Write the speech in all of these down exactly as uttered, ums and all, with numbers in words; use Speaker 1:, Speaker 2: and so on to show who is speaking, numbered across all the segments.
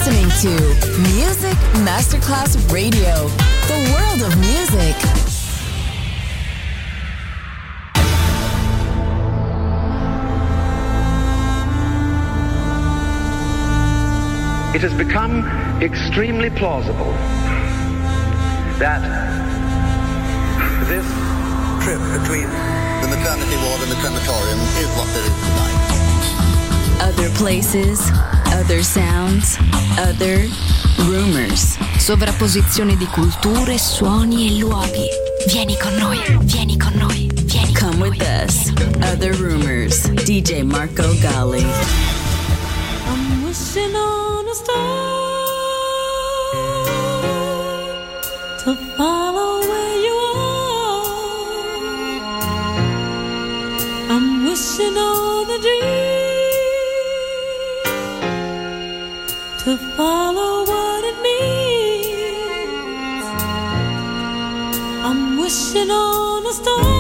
Speaker 1: listening to Music Masterclass Radio, the world of music.
Speaker 2: It has become extremely plausible that this
Speaker 3: trip between the maternity ward and the crematorium is what there is tonight.
Speaker 1: Other places, other sounds, other rumors.
Speaker 4: Sovrapposizione di culture, suoni e luoghi. Vieni con noi, vieni con noi, vieni
Speaker 1: Come
Speaker 4: con
Speaker 1: with
Speaker 4: noi.
Speaker 1: us. Other rumors. D J Marco Gally.
Speaker 5: I'm wishing on a star to follow where you are. I'm wishing on a dream to follow what it means. I'm wishing on a star.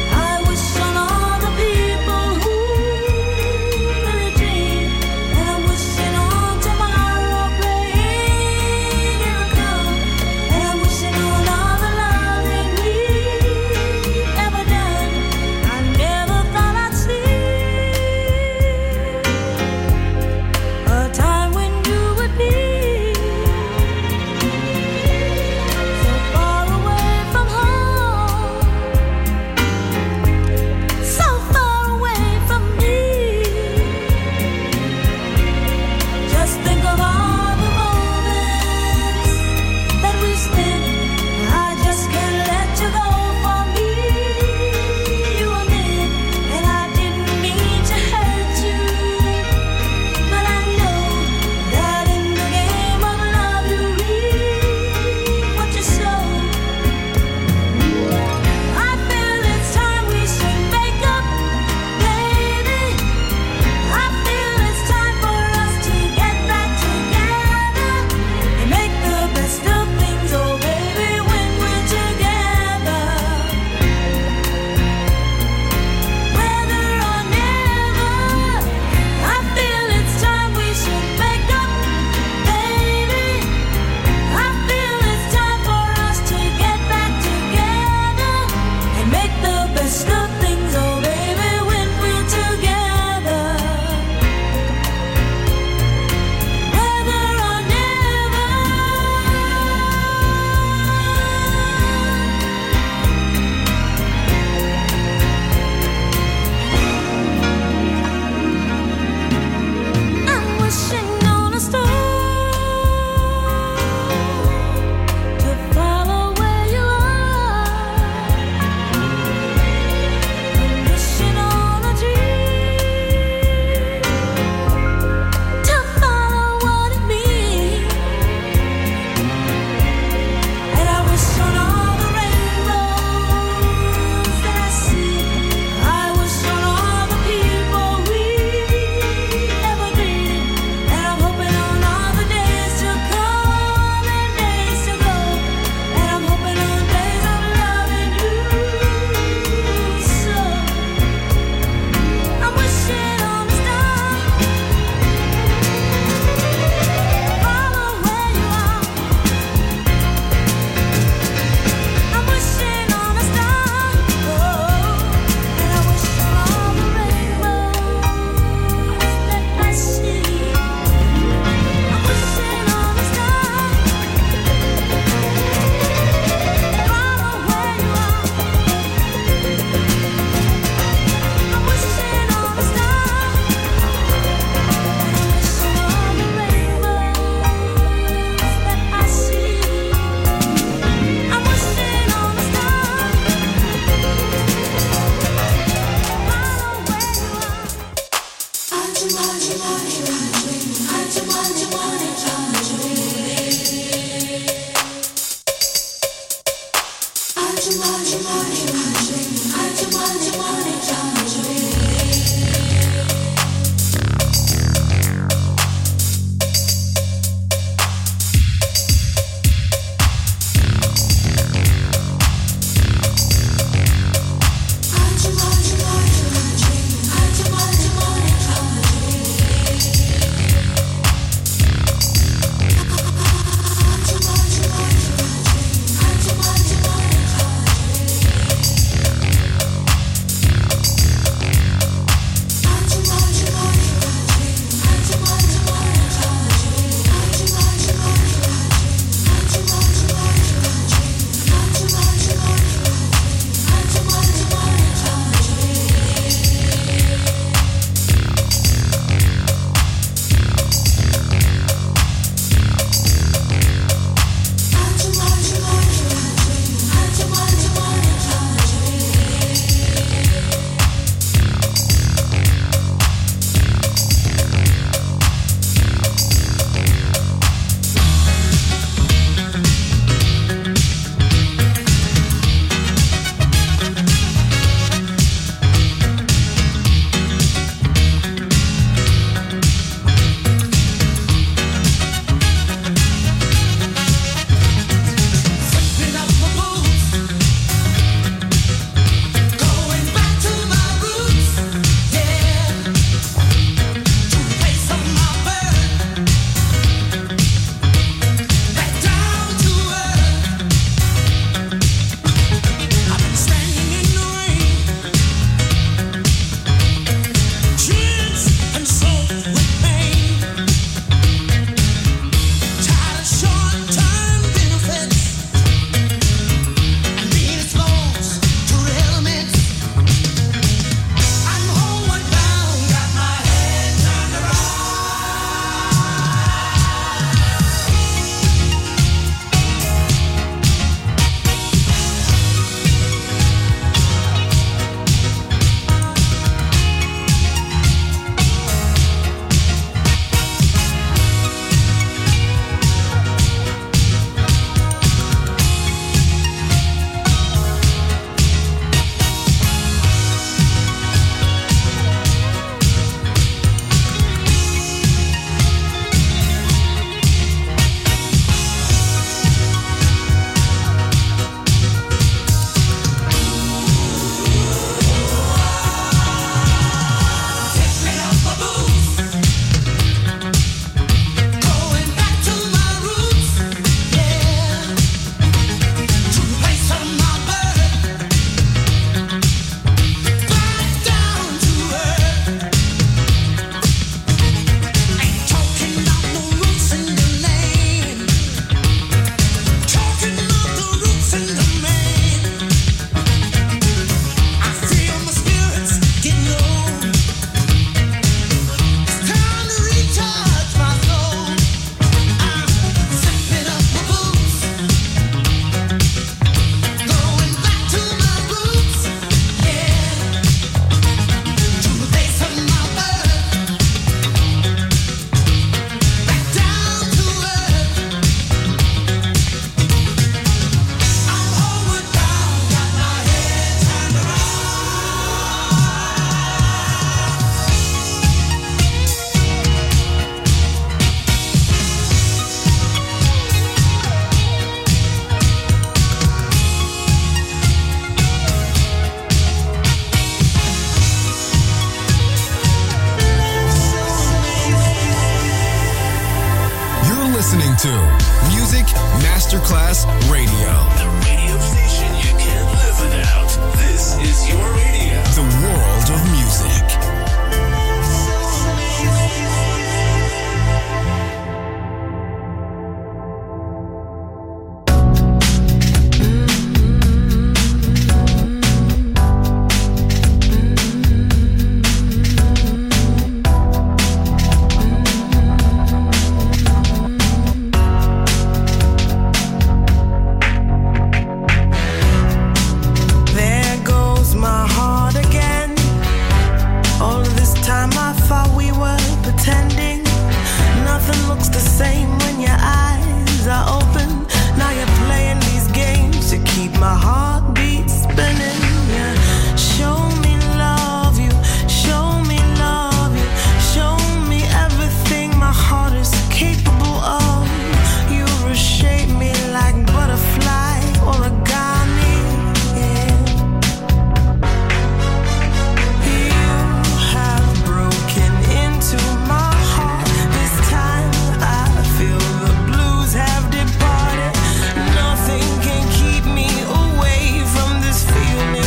Speaker 6: I wish Masterclass Radio.
Speaker 7: The radio station you can't live without. This is your radio.
Speaker 6: The world of music.
Speaker 5: spinning. Yeah, show me love you, show me love you, show me everything my heart is capable of. You reshape me like butterfly origami. Yeah. You have broken into my heart. This time I feel the blues have departed. Nothing can keep me away from this feeling.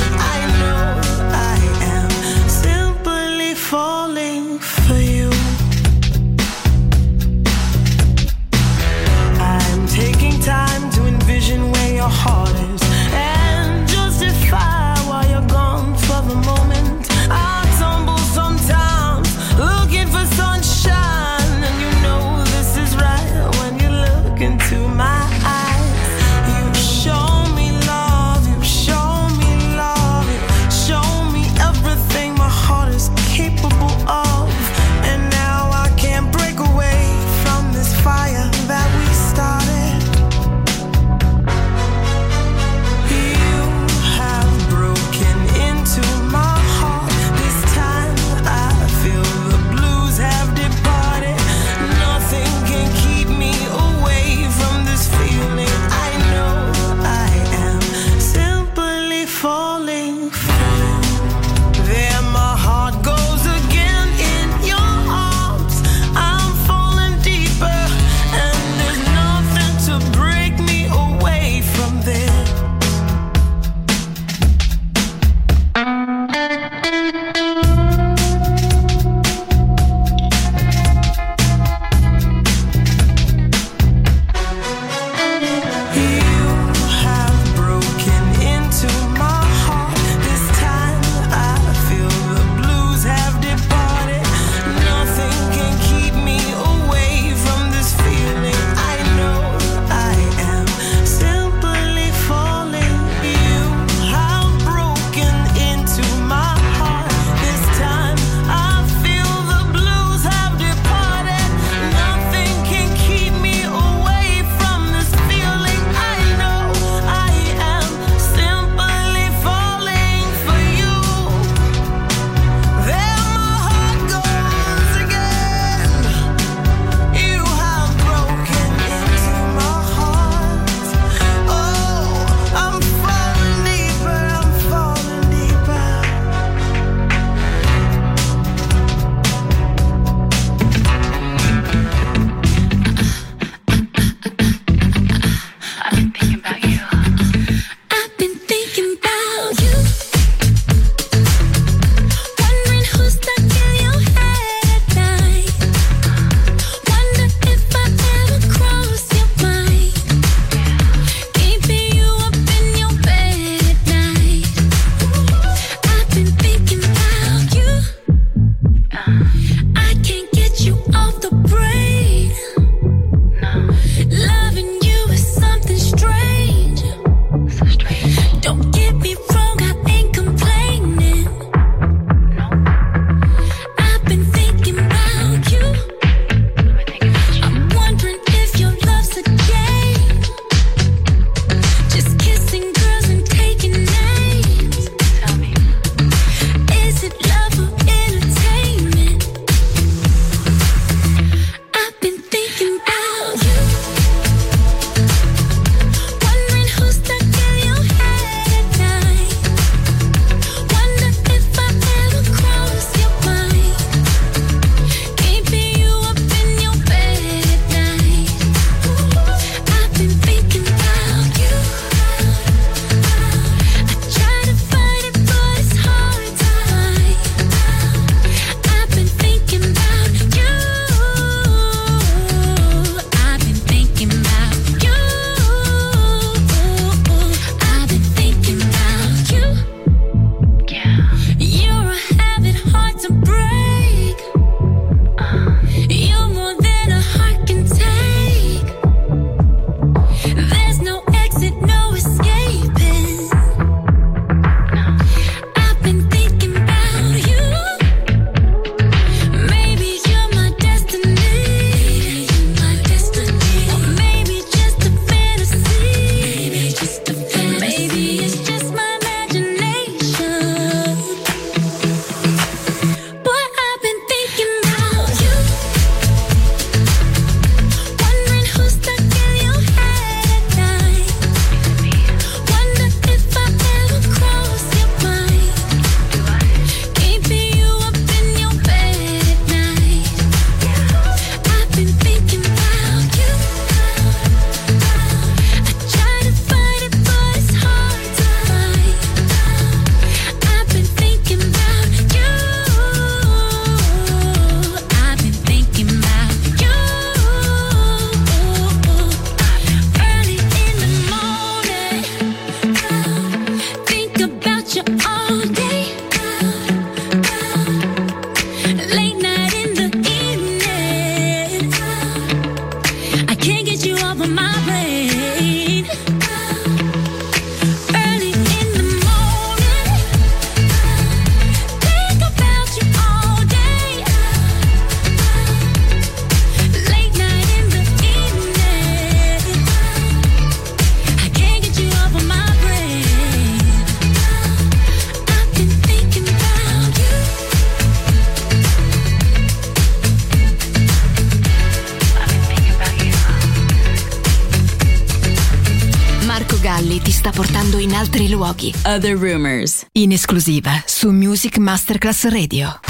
Speaker 4: accadendo in altri luoghi.
Speaker 1: Other Rumors.
Speaker 4: In esclusiva su Music Masterclass Radio.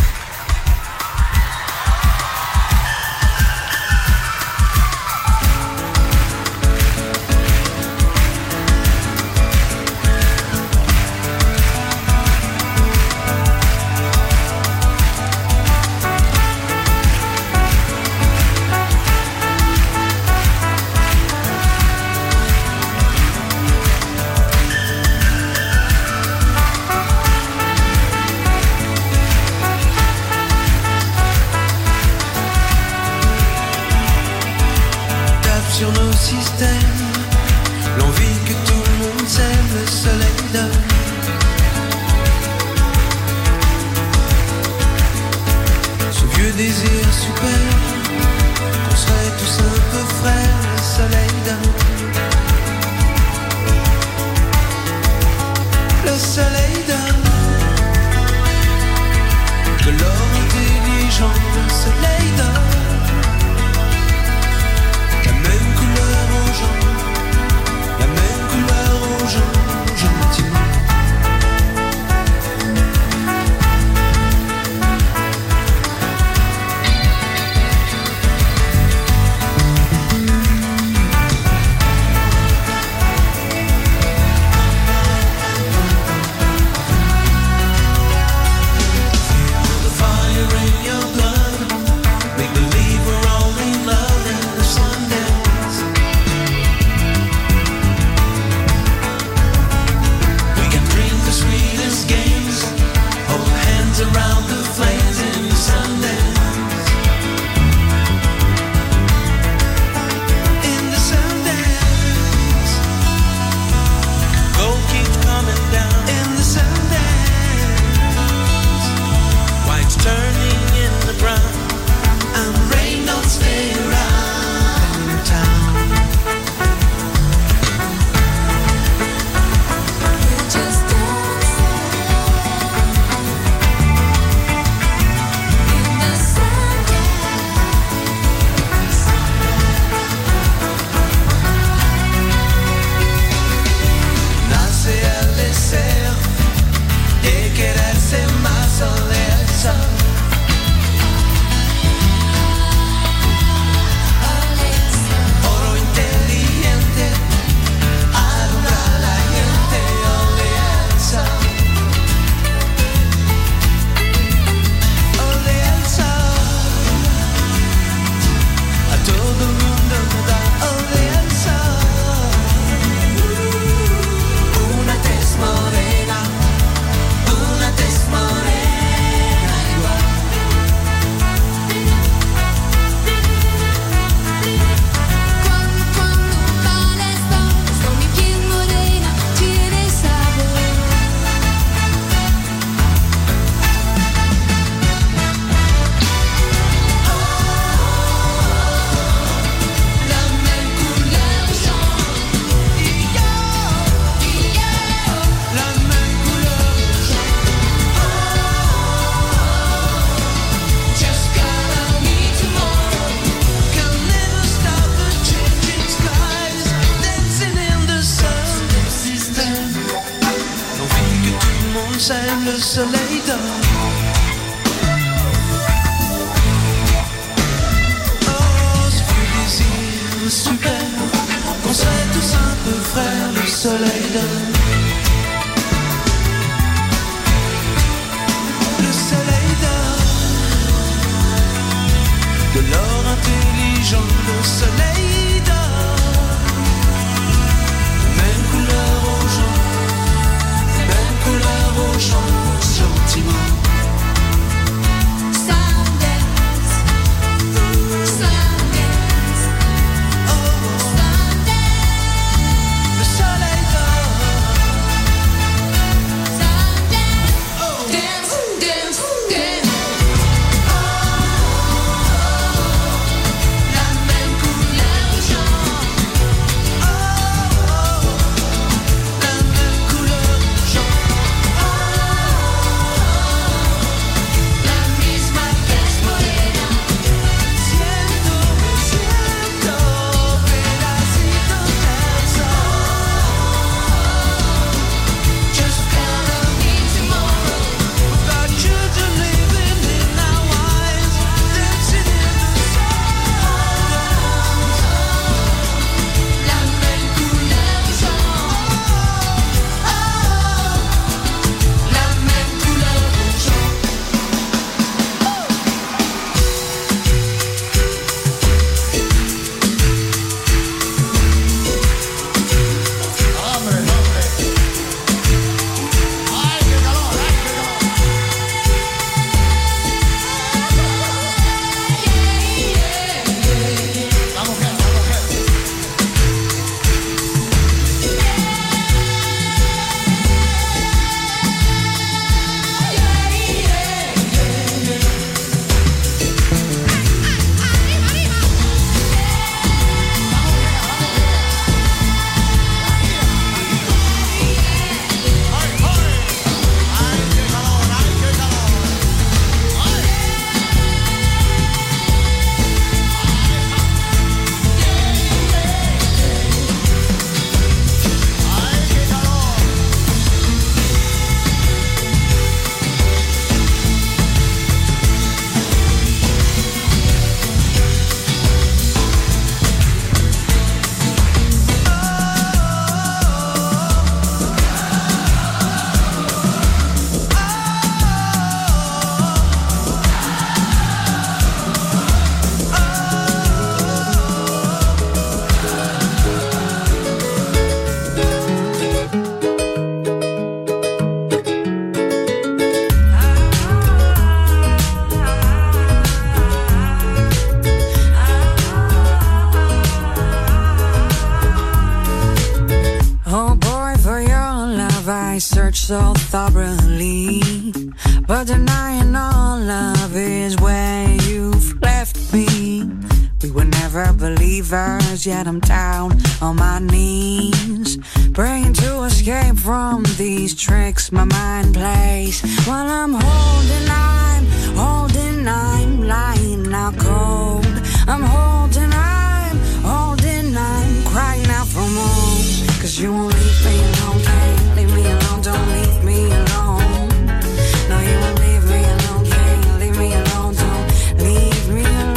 Speaker 5: Sur nos systèmes, l'envie que tout le monde s'aime, le soleil donne. Ce vieux désir super, qu'on serait tous un peu frères, le soleil donne. Le soleil donne de l'or intelligent, le soleil donne. La même couleur aux gens, gentiment. The fire in your blood, make believe we're all in love and the sun dance. The sweetest games, hold hands around the flames in the Sundance. In the Sundance, gold keeps coming down. In the Sundance, white's turning in the brown, and rain don't stay around in town. De quererse más o de eso. Oro inteligente, alumbra a la gente, ole Elsa. Ole Elsa. A todo el mundo da ole Elsa. Una tez morena, una tez morena igual.
Speaker 8: Cuando, cuando balas con mi piel morena tiene sabor. La même couleur jaune, y yo, y yo.
Speaker 5: La même couleur
Speaker 8: Just gotta meet tomorrow.
Speaker 5: can never stop the changing skies, dancing in the sun. L'envie que tout le monde s'aime, le soleil donne. Oh, ce vieux désir super, qu'on serait tous un peu frères, le soleil donne. Le soleil donne de l'or intelligent, le soleil donne. Même couleur aux gens, même couleur aux gens, gentiment.
Speaker 8: Sundance, Sundance,
Speaker 5: Oh,
Speaker 8: Sundance,
Speaker 5: le soleil donne.
Speaker 8: Sundance. Dance, dance, dance. La même couleur
Speaker 9: I search so thoroughly, but denying all love is where you've left me. We were never believers, yet I'm down on my knees, praying to escape from these tricks my mind plays. While I'm holding, I'm holding, I'm lying out cold. I'm holding, I'm holding, I'm crying out for more. Cause you won't leave me alone, can't leave me alone, don't leave me alone. No, you won't leave me alone, can't leave me alone, don't leave me alone.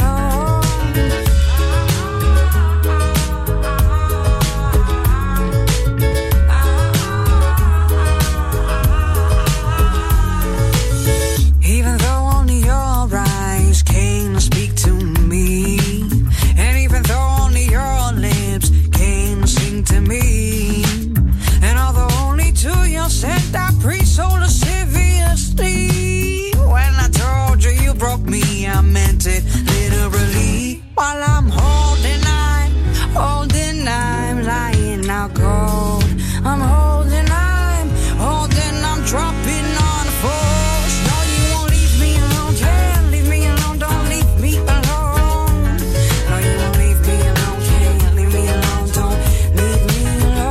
Speaker 9: Even though only your eyes can speak to me, and even though only your lips can sing to me, and although only to you said I preach so lasciviously, when I told you you broke me, I meant it literally. While I'm holding, I'm holding, I'm lying out cold. I'm holding, I'm holding, I'm dropping on the force. No, you won't leave me alone, can't leave me alone, don't leave me alone. No, you won't leave me alone, can't leave me alone, don't leave me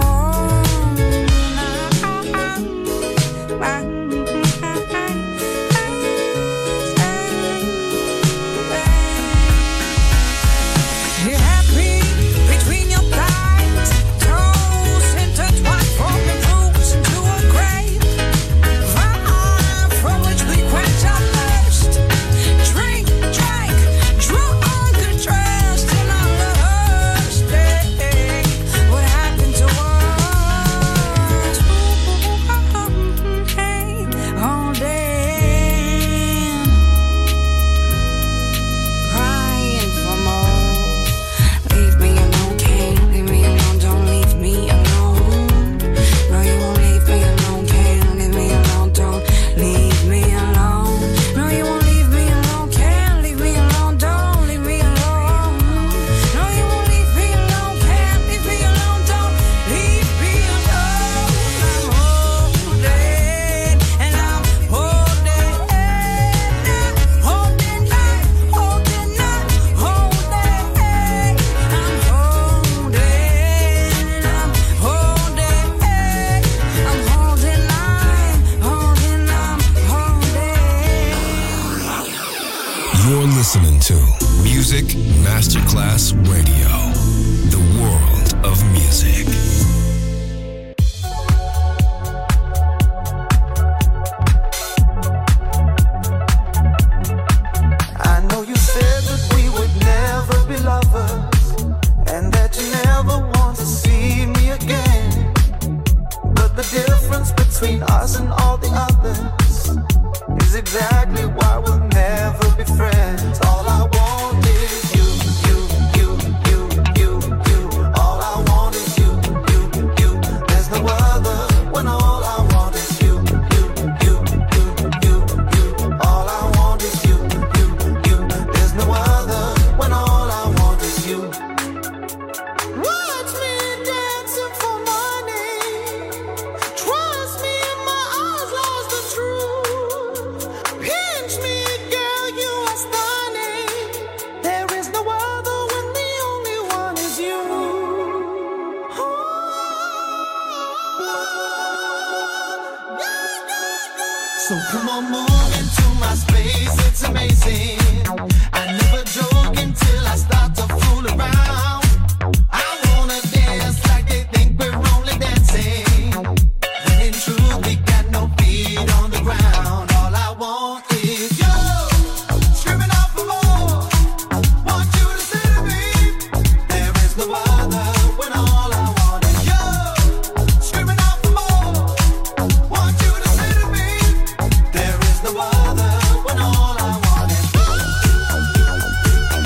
Speaker 9: You're happy between your thighs, toes intertwined, forming roots into a grave, fire from which we quench our thirst. Drink, drank, drunk, undressed in our lust. Hey, what happened to us? Hey, holding, crying for more. Leave me alone, can't leave me alone, don't leave me alone. No, you won't leave me alone, can't leave me alone, don't leave me alone. No, you won't leave me alone, can't leave me alone, don't leave me alone. No, you won't leave me alone, can't leave me alone, don't leave me alone. I'm holding, and I'm holding, holding, I'm holding, I'm holding, I'm holding, and I'm holding, I'm holding, I'm holding, I'm holding.
Speaker 6: You're listening to Music Masterclass Radio, the world of music.
Speaker 10: I know you said that we would never be lovers, and that you never want to see me again. But the difference between us and all the others is exactly why we'll never be friends. All I want is you, you, you, you, you, you. All I want is you, you, you. There's no other when all I want is you, you, you, you, you, you. All I want is you, you, you. There's no other when all I want is you. Watch me dancing for money. Trust me, my eyes lost the truth. Pinch me, girl, you are stunning. There is no other when the only one is you. So come on, move into my space, it's amazing. I never joke until I start to fool around. I wanna dance like they think we're only dancing, when in truth we got no feet on the ground. All I want is you, screaming out for more. Want you to say to me, there is no other when all I want is you, screaming out for more. Want you to say to me, there is no other when all I want is you.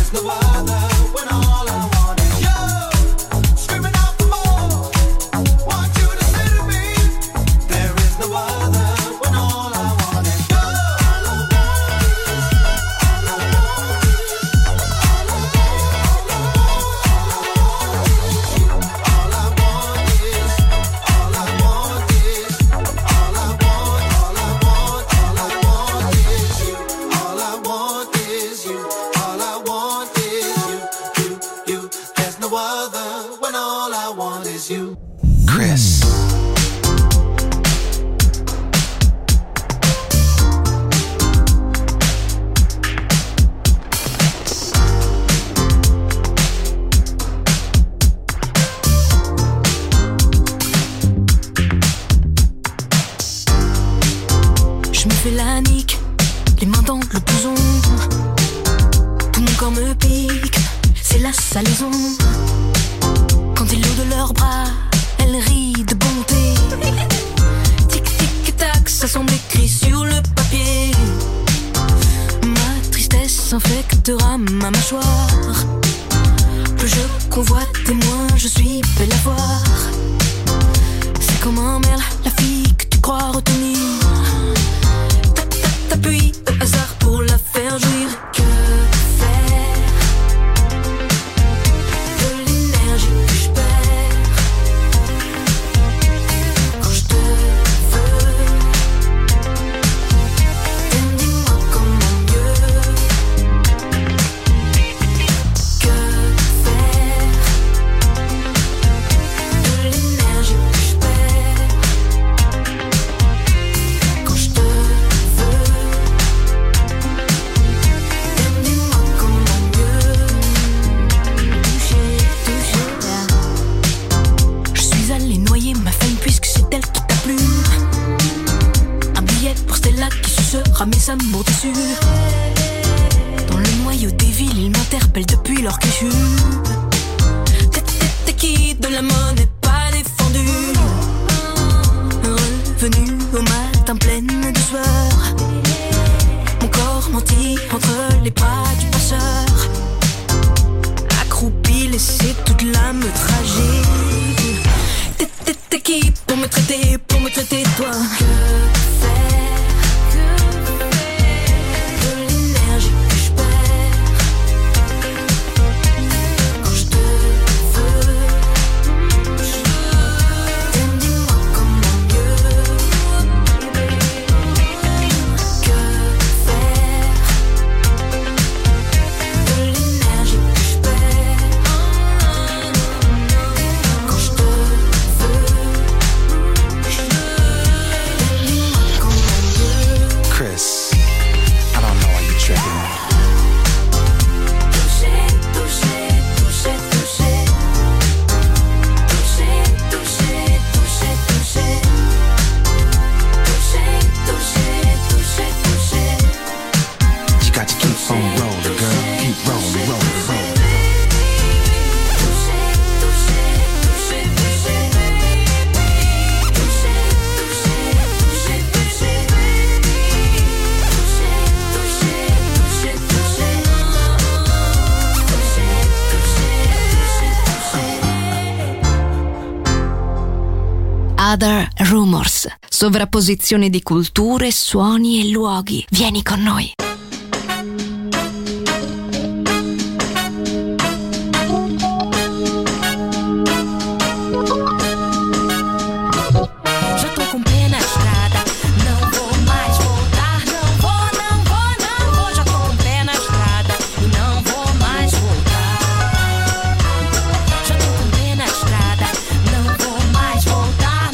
Speaker 4: Other Rumors, sovrapposizione di culture, suoni e luoghi. Vieni con noi.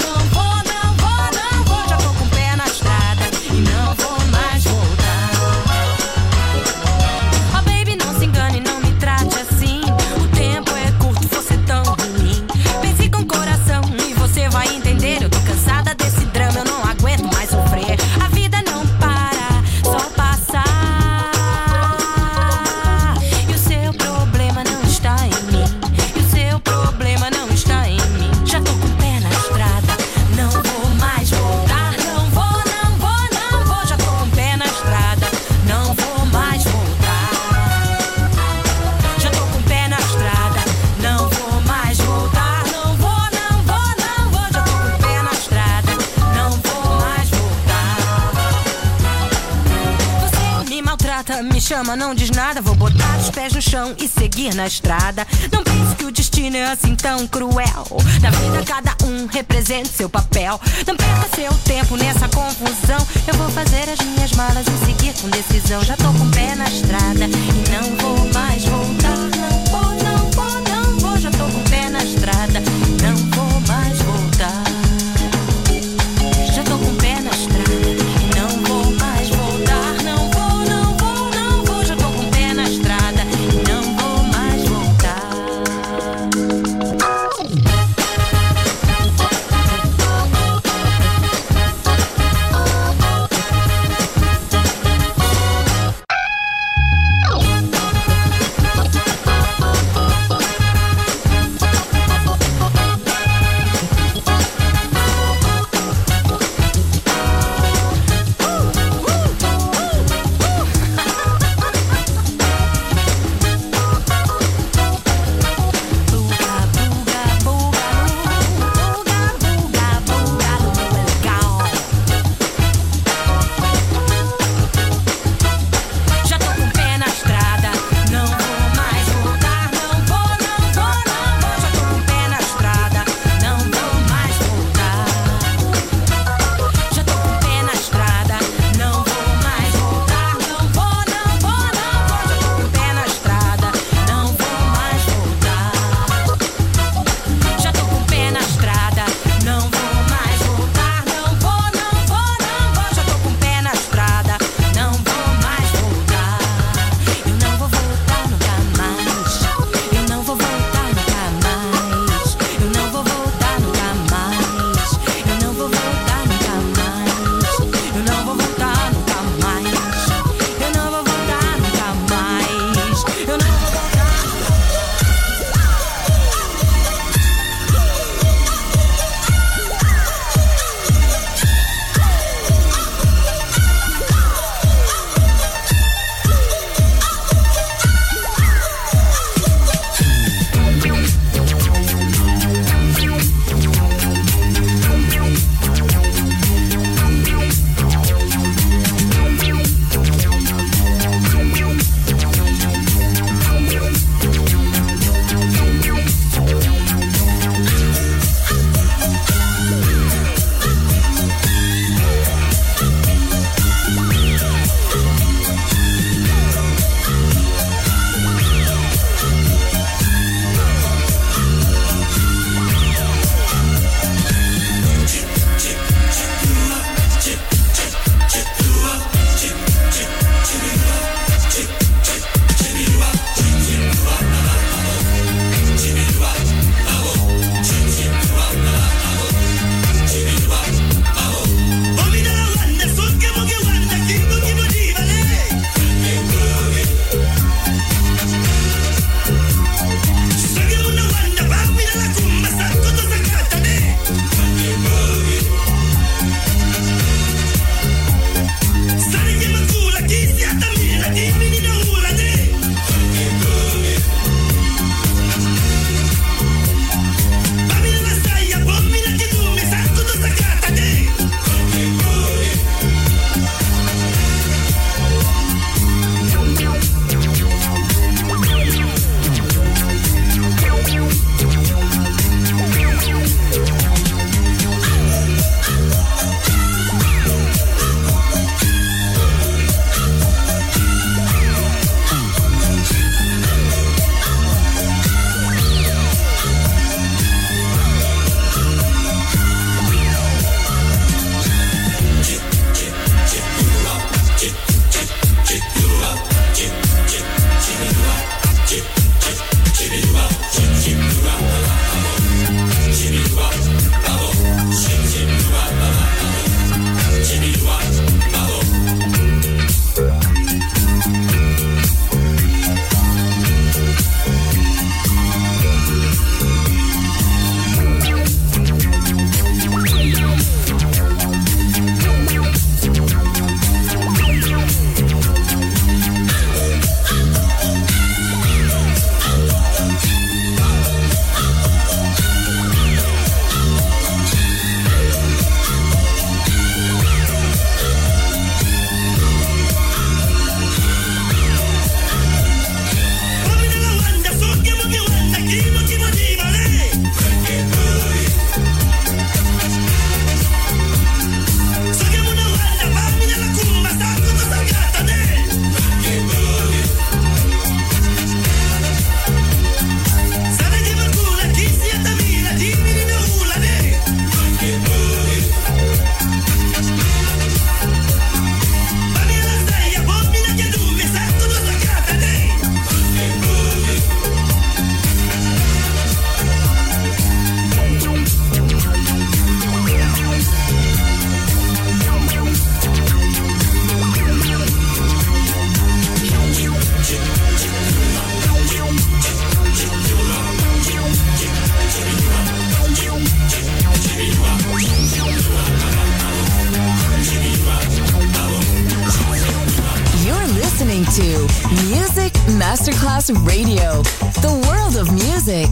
Speaker 5: Voltar.
Speaker 11: chama, não diz nada. Vou botar os pés no chão e seguir na estrada. Não pense que o destino é assim tão cruel. Na vida cada um representa seu papel. Não perca seu tempo nessa confusão. Eu vou fazer as minhas malas e seguir com decisão. Já tô com o pé na estrada e não vou mais voltar. Não vou, não vou, não vou. Já tô com o pé na estrada, não vou mais voltar. Já tô com o pé na estrada e não vou mais voltar. Não vou, não vou, não vou. Já tô com o pé na estrada e não vou mais voltar.
Speaker 1: Music Masterclass Radio. The world of music.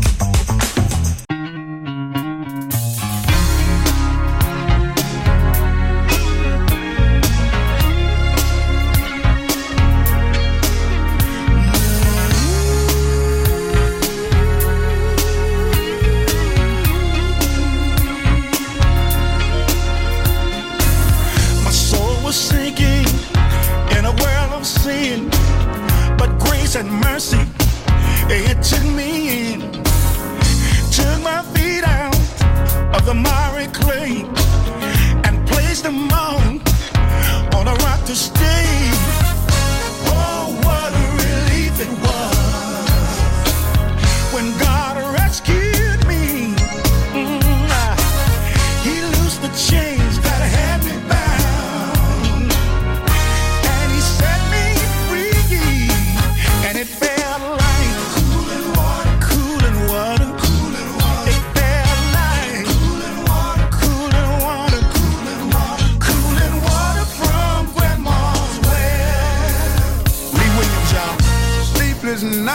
Speaker 12: And mercy, it took me in, took my feet out of the miry clay and placed them on, on a rock to stay. Oh, what a relief it was when God rescued me. Mm, he loosed the chains that had me bound, and he set me free. And it felt like cooling water, cooling water, cooling water. It felt like cooling water, cooling water, cooling water, cooling water from Grandma's well. Lee Williams, y'all. Sleepless night.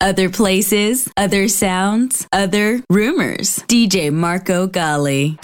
Speaker 1: Other places, other sounds, other rumors. D J Marco Gally.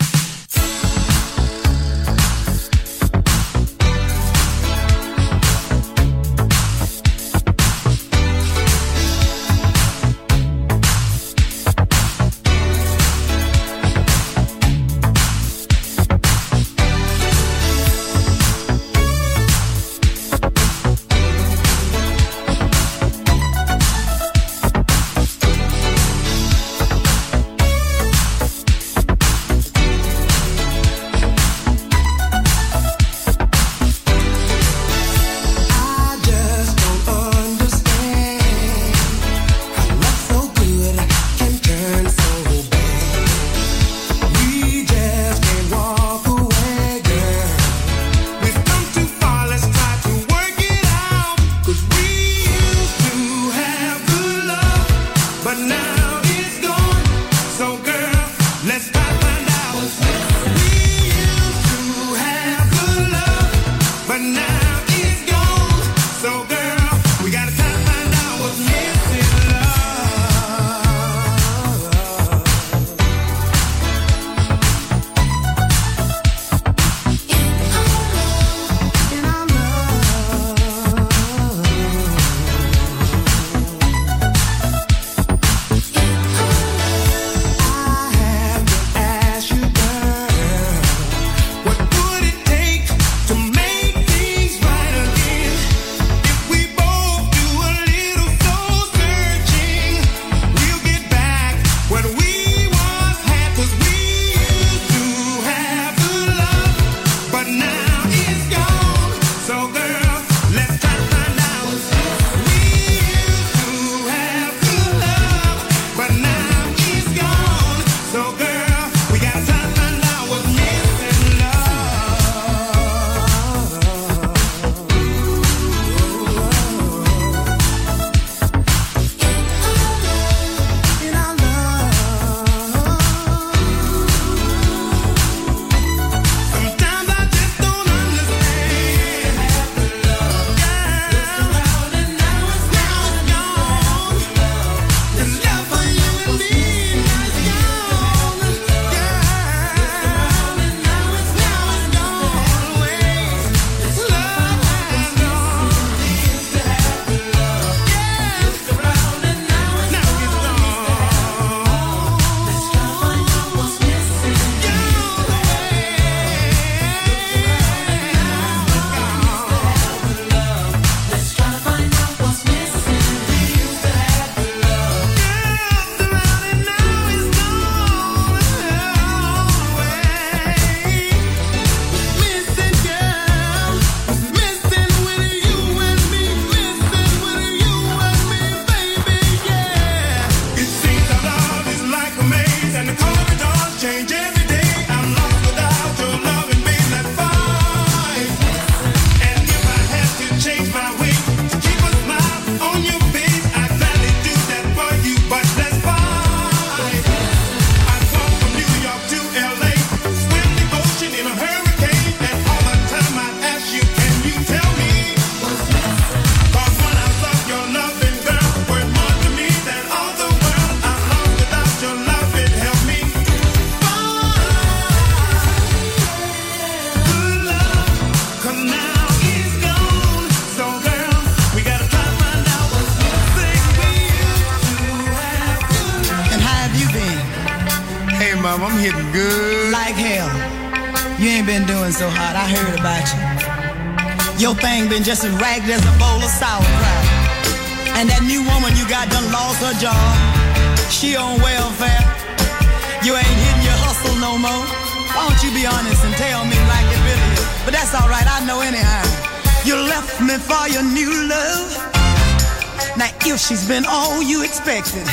Speaker 13: Mom, I'm hitting good.
Speaker 14: Like hell. You ain't been doing so hot. I heard about you. Your thing been just as ragged as a bowl of sauerkraut. And that new woman you got done lost her job. She on welfare. You ain't hitting your hustle no more. Why don't you be honest and tell me like it really is? But that's all right. I know anyhow. You left me for your new love. Now if she's been all you expected,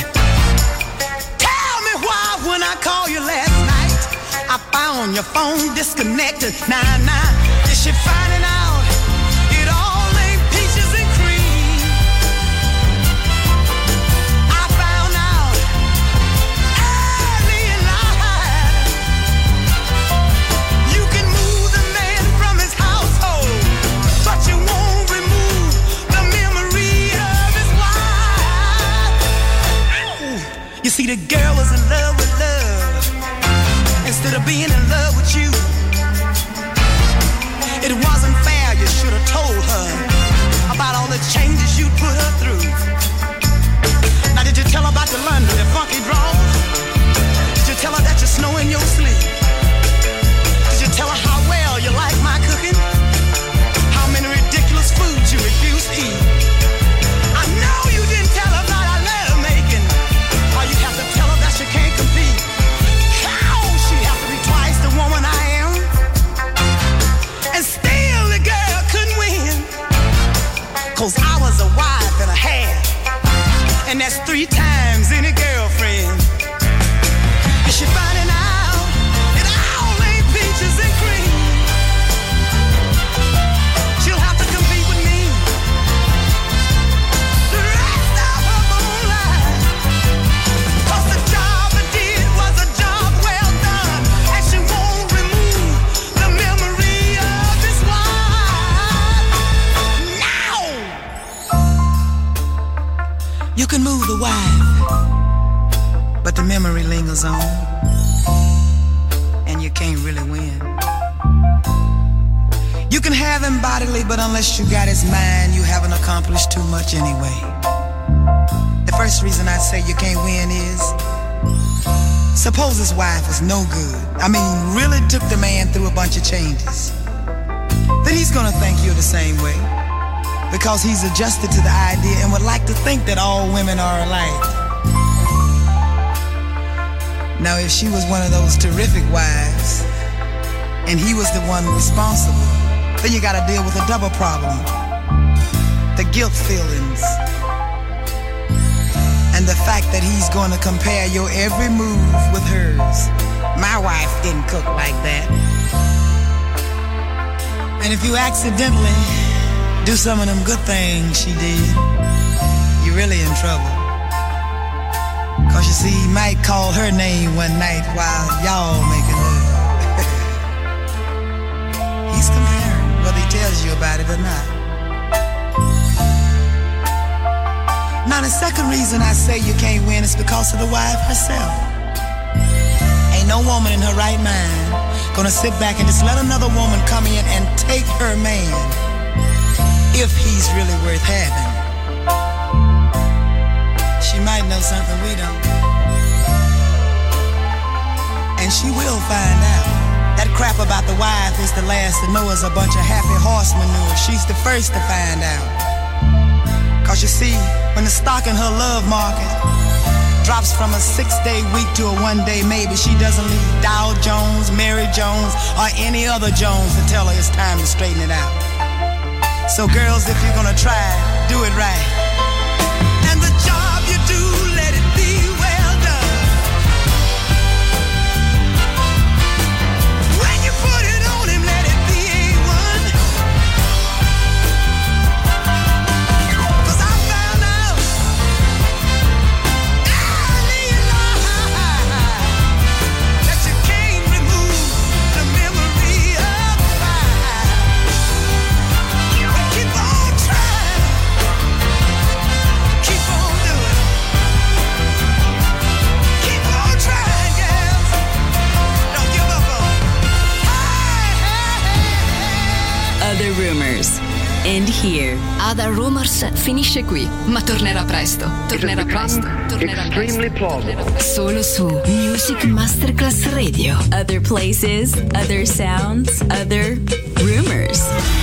Speaker 14: tell me why when I call you last night I found your phone disconnected. Nah, nah, is she finding out it all ain't peaches and cream? I found out early in life you can move the man from his household, but you won't remove the memory of his wife. the girl was in love with love instead of being in love with you. It wasn't fair, you should have told her about all the changes you put her through. Now did you tell her about the London, the funky drawers? Did you tell her that you snow in your sleep? Did you tell her how well you like my cooking? How many ridiculous foods you refuse to eat? I know you didn't tell her about our love making. Or you have to tell her that she can't compete. How she have to be twice the woman I am? And still the girl couldn't win. Cause I was a wife and a half. And that's three times any girlfriend. Is she finding out it all ain't peaches and cream? She'll have to compete with me the rest of her whole life. Cause the job I did was a job well done, and she won't remove the memory of this wife. Now you can move the wife, but the memory lingers on, and you can't really win. You can have him bodily, but unless you got his mind, you haven't accomplished too much anyway. The first reason I say you can't win is, suppose his wife was no good. I mean, really took the man through a bunch of changes. Then he's gonna think you're the same way, because he's adjusted to the idea and would like to think that all women are alike. Now, if she was one of those terrific wives, and he was the one responsible, then you gotta deal with a double problem. The guilt feelings, and the fact that he's gonna compare your every move with hers. My wife didn't cook like that. And if you accidentally do some of them good things she did, you're really in trouble. Cause you see, he might call her name one night while y'all making love. He's comparing, whether he tells you about it or not. Now the second reason I say you can't win is because of the wife herself. Ain't no woman in her right mind gonna sit back and just let another woman come in and take her man if he's really worth having. She might know something we don't, and she will find out. That crap about the wife is the last to know is a bunch of happy horse manure. She's the first to find out. Cause you see, when the stock in her love market drops from a six-day week to a one-day maybe, she doesn't need Dow Jones, Mary Jones, or any other Jones to tell her it's time to straighten it out. So girls, if you're gonna try, do it right. And the job you do, let it be well done. When you put it on him, let it be A one. Cause I found out early in life that you can't remove the memory of the past. But keep on trying, keep on doing, keep on trying, girls. Don't give up on it.
Speaker 1: Other Rumors. End here.
Speaker 4: Other Rumors finisce qui, ma tornerà presto. Tornerà presto. Tornerà
Speaker 2: Extremely plausible.
Speaker 4: Solo su Music Masterclass Radio.
Speaker 1: Other places, other sounds, other rumors.